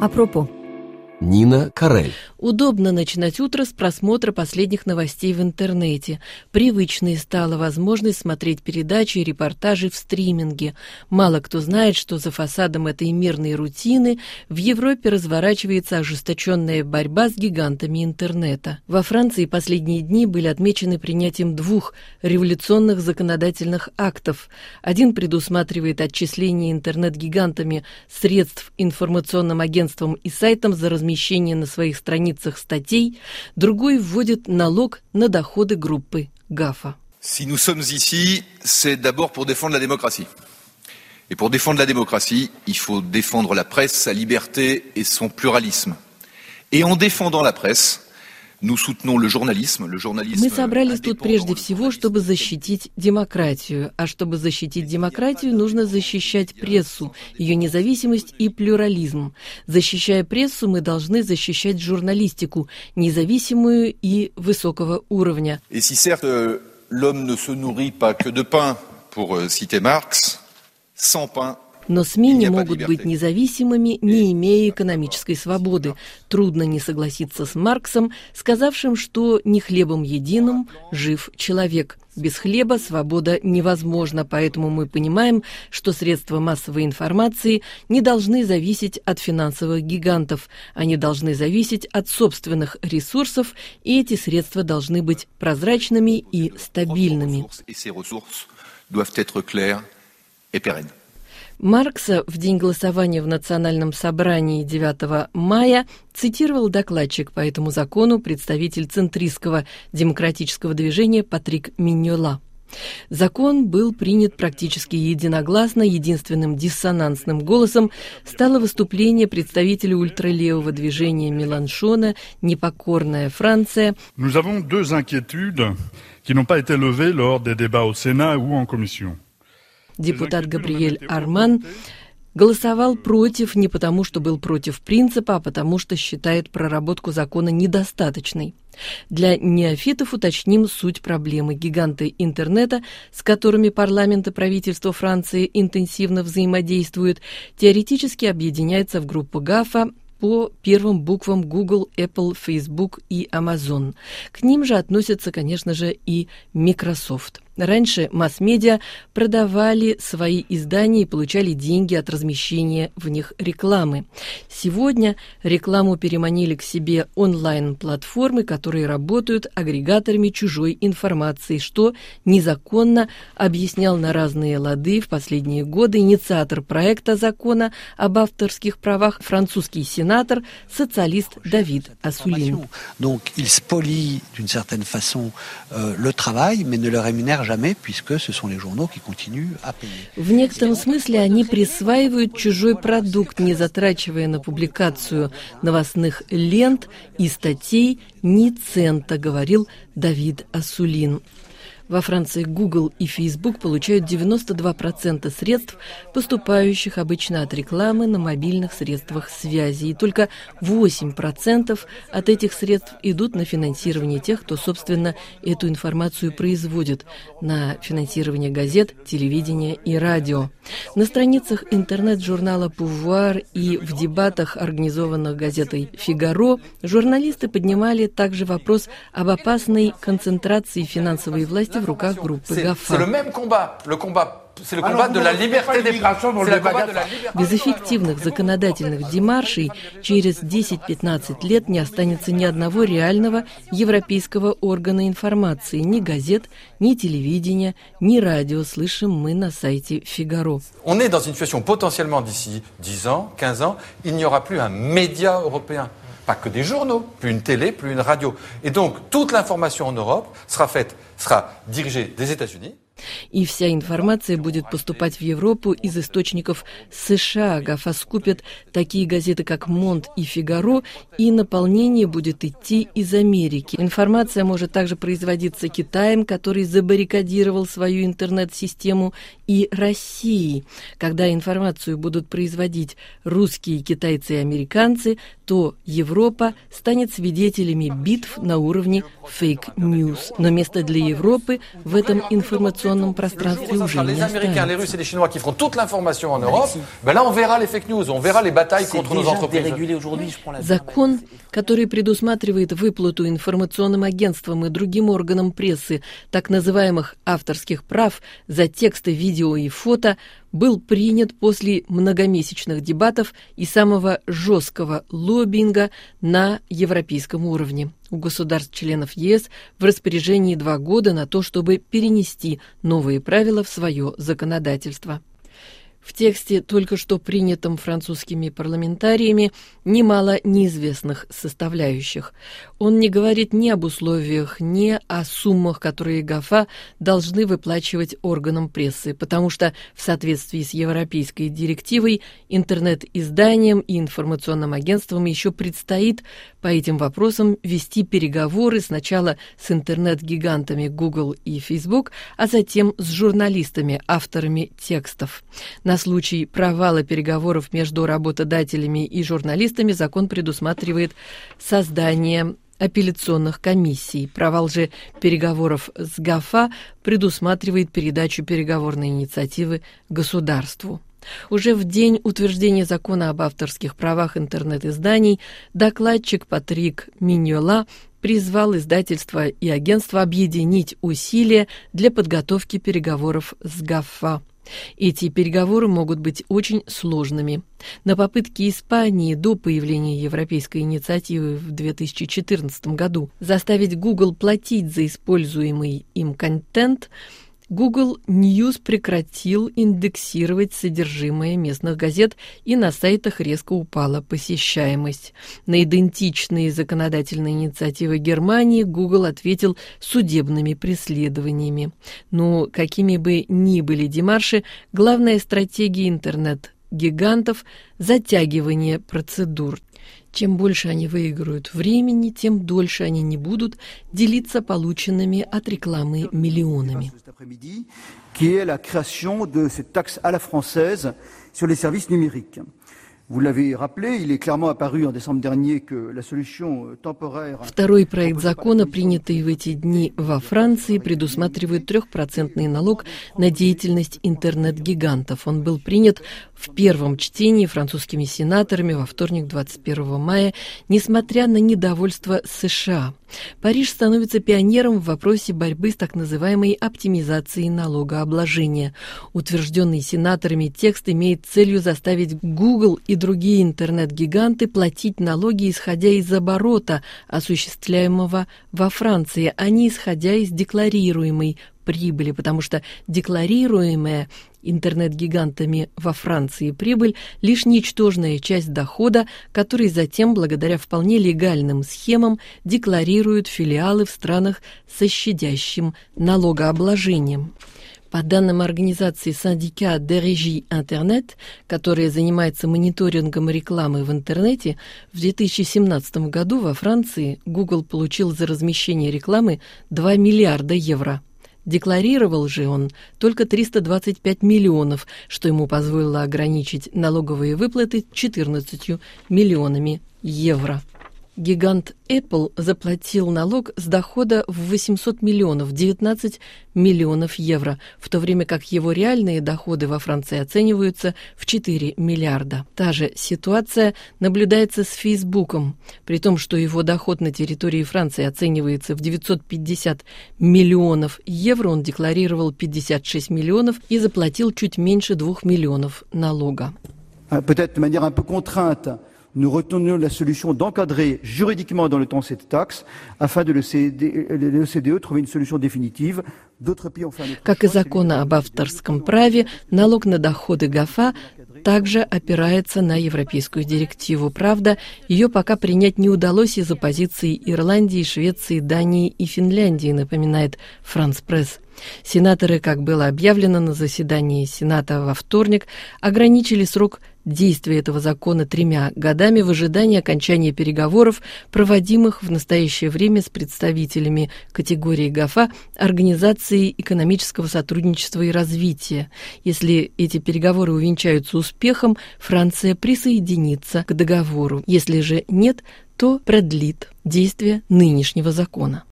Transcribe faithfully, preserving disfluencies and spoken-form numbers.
Апропо. Нина Карель. Удобно начинать утро с просмотра последних новостей в интернете. Привычной стала возможность смотреть передачи и репортажи в стриминге. Мало кто знает, что за фасадом этой мирной рутины в Европе разворачивается ожесточенная борьба с гигантами интернета. Во Франции последние дни были отмечены принятием двух революционных законодательных актов. Один предусматривает отчисление интернет-гигантами средств информационным агентствам и сайтам за размещение на своих страницах статей, другой вводит налог на доходы группы гафа. Si nous sommes ici, c'est d'abord pour défendre la démocratie. Et pour défendre la démocratie, il faut défendre la presse, sa liberté et son pluralisme. Et en défendant la presse, nous soutenons le journalisme, le journalisme. Мы собрались тут прежде всего, чтобы защитить демократию. А чтобы защитить демократию, нужно защищать прессу, ее независимость и плюрализм. Защищая прессу, мы должны защищать журналистику, независимую и высокого уровня. Et si certes l'homme ne se nourrit pas que de pain, pour citer Marx, sans pain. Но СМИ не могут быть независимыми, не имея экономической свободы. Трудно не согласиться с Марксом, сказавшим, что не хлебом единым жив человек. Без хлеба свобода невозможна, поэтому мы понимаем, что средства массовой информации не должны зависеть от финансовых гигантов. Они должны зависеть от собственных ресурсов, и эти средства должны быть прозрачными и стабильными. Маркса в день голосования в Национальном собрании девятого мая цитировал докладчик по этому закону, представитель центристского демократического движения Патрик Миньола. Закон был принят практически единогласно. Единственным диссонансным голосом стало выступление представителя ультралевого движения Меланшона «Непокорная Франция». Nous avons deux inquiétudes qui n'ont pas été levées lors des débats au Sénat ou en commission. Депутат Габриэль Арман голосовал против не потому, что был против принципа, а потому, что считает проработку закона недостаточной. Для неофитов уточним суть проблемы. Гиганты интернета, с которыми парламент и правительство Франции интенсивно взаимодействуют, теоретически объединяются в группу гафа по первым буквам Google, Apple, Facebook и Amazon. К ним же относятся, конечно же, и Microsoft. Раньше масс-медиа продавали свои издания и получали деньги от размещения в них рекламы. Сегодня рекламу переманили к себе онлайн-платформы, которые работают агрегаторами чужой информации, что незаконно, объяснял на разные лады в последние годы инициатор проекта закона об авторских правах, французский сенатор, социалист Давид Ассулин. Donc, il spolie d'une certaine façon euh, le travail, mais ne le rémunère jamais, puisque ce sont les journaux qui continuent à payer. В некотором смысле они присваивают чужой продукт, не затрачивая на публикацию новостных лент и статей ни цента, говорил Давид Ассулин. Во Франции Google и Facebook получают девяносто два процента средств, поступающих обычно от рекламы на мобильных средствах связи. И только восемь процентов от этих средств идут на финансирование тех, кто, собственно, эту информацию производит, на финансирование газет, телевидения и радио. На страницах интернет-журнала «Пувуар» и в дебатах, организованных газетой «Фигаро», журналисты поднимали также вопрос об опасной концентрации финансовой власти в руках группы гафа. Без эффективных законодательных демаршей через десять-пятнадцать лет не останется ни одного реального европейского органа информации, ни газет, ни телевидения, ни радио, слышим мы на сайте Фигаро. On est dans une situation potentiellement d'ici dix ans, quinze ans, il n'y aura plus un média européen. Pas que des journaux, plus une télé, plus une radio. Et donc, toute l'information en Europe sera faite, sera dirigée des États-Unis. И вся информация будет поступать в Европу из источников США. гафа скупят такие газеты, как «Монт» и «Фигаро», и наполнение будет идти из Америки. Информация может также производиться Китаем, который забаррикадировал свою интернет-систему, и Россией. Когда информацию будут производить русские, китайцы и американцы, то Европа станет свидетелями битв на уровне фейк-ньюс. Но место для Европы в этом информационном информационном пространстве уже не останется. Les Chinois qui feront toute l'information en Europe, ben là on verra les fake news, on verra les batailles contre nos entreprises. Закон, который предусматривает выплату информационным агентствам и другим органам прессы так называемых авторских прав за тексты, видео и фото, был принят после многомесячных дебатов и самого жесткого лоббинга на европейском уровне. У государств-членов ЕС в распоряжении два года на то, чтобы перенести новые правила в свое законодательство. В тексте, только что принятом французскими парламентариями, немало неизвестных составляющих. Он не говорит ни об условиях, ни о суммах, которые ГАФА должны выплачивать органам прессы, потому что в соответствии с европейской директивой интернет-изданиям и информационным агентствам еще предстоит по этим вопросам вести переговоры сначала с интернет-гигантами Google и Facebook, а затем с журналистами, авторами текстов. На случай провала переговоров между работодателями и журналистами закон предусматривает создание апелляционных комиссий. Провал же переговоров с ГАФА предусматривает передачу переговорной инициативы государству. Уже в день утверждения закона об авторских правах интернет-изданий докладчик Патрик Миньола призвал издательства и агентства объединить усилия для подготовки переговоров с ГАФА. Эти переговоры могут быть очень сложными. На попытке Испании до появления европейской инициативы в две тысячи четырнадцатом году заставить Google платить за используемый им контент, Google News прекратил индексировать содержимое местных газет, и на сайтах резко упала посещаемость. На идентичные законодательные инициативы Германии Google ответил судебными преследованиями. Но какими бы ни были демарши, главная стратегия интернет-гигантов – затягивание процедур. Чем больше они выиграют времени, тем дольше они не будут делиться полученными от рекламы миллионами. Второй проект закона, принятый в эти дни во Франции, предусматривает трехпроцентный налог на деятельность интернет-гигантов. Он был принят в первом чтении французскими сенаторами во вторник, двадцать первого мая, несмотря на недовольство США. Париж становится пионером в вопросе борьбы с так называемой оптимизацией налогообложения. Утвержденный сенаторами текст имеет целью заставить Google и другие интернет-гиганты платить налоги, исходя из оборота, осуществляемого во Франции, а не исходя из декларируемой прибыли, потому что декларируемая интернет-гигантами во Франции прибыль – лишь ничтожная часть дохода, который затем, благодаря вполне легальным схемам, декларируют филиалы в странах со щадящим налогообложением. По данным организации Syndicat de Régie Internet, которая занимается мониторингом рекламы в интернете, в две тысячи семнадцатом году во Франции Google получил за размещение рекламы два миллиарда евро. Декларировал же он только триста двадцать пять миллионов, что ему позволило ограничить налоговые выплаты четырнадцатью миллионами евро. Гигант Apple заплатил налог с дохода в восемьсот миллионов, девятнадцать миллионов евро, в то время как его реальные доходы во Франции оцениваются в четыре миллиарда. Та же ситуация наблюдается с Фейсбуком, при том, что его доход на территории Франции оценивается в девятьсот пятьдесят миллионов евро, он декларировал пятьдесят шесть миллионов и заплатил чуть меньше двух миллионов налога. Peut-être de manière un peu contrainte. Nous retenions la solution d'encadrer juridiquement dans le temps cette taxe afin de l'O C D E trouver une solution définitive. D'autres pays ont fait un autre choix. Как и закон об авторском праве, налог на доходы ГАФА также опирается на европейскую директиву. Правда, ее пока принять не удалось из-за позиций Ирландии, Швеции, Дании и Финляндии, напоминает France Press. Сенаторы, как было объявлено на заседании Сената во вторник, ограничили срок действия этого закона тремя годами в ожидании окончания переговоров, проводимых в настоящее время с представителями категории ГАФА Организации экономического сотрудничества и развития. Если эти переговоры увенчаются успехом, Франция присоединится к договору. Если же нет, то продлит действие нынешнего закона.